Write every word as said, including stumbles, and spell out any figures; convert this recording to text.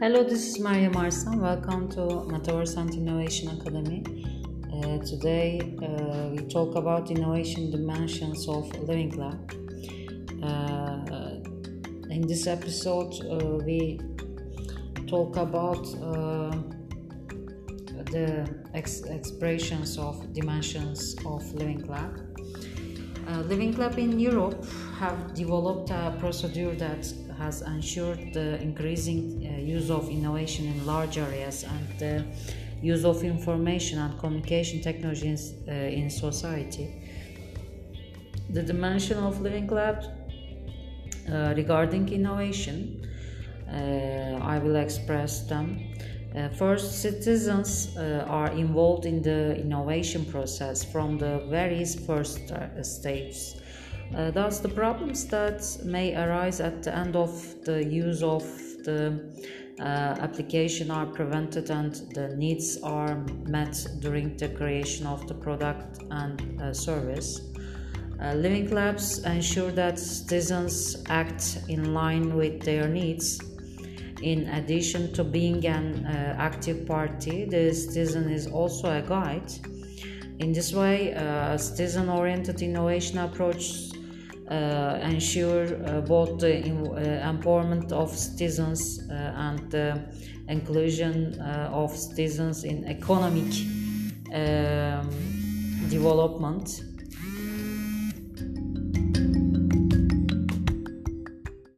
Hello, this is Maria Marsan. Welcome to Metaverse and Innovation Academy. Uh, today uh, we talk about innovation dimensions of Living Lab. Uh, in this episode, uh, we talk about uh, the ex- expressions of dimensions of Living Lab. Uh, Living Lab in Europe have developed a procedure that has ensured the increasing uh, use of innovation in large areas and the use of information and communication technologies uh, in society. The dimension of Living Lab uh, regarding innovation, uh, I will express them. Uh, first, citizens uh, are involved in the innovation process from the very first uh, stages. Uh, thus, the problems that may arise at the end of the use of the uh, application are prevented and the needs are met during the creation of the product and uh, service. Uh, Living Labs ensure that citizens act in line with their needs. In addition to being an uh, active party, the citizen is also a guide. In this way, uh, a citizen-oriented innovation approach uh, ensure uh, both the in, uh, empowerment of citizens uh, and the inclusion uh, of citizens in economic um, development.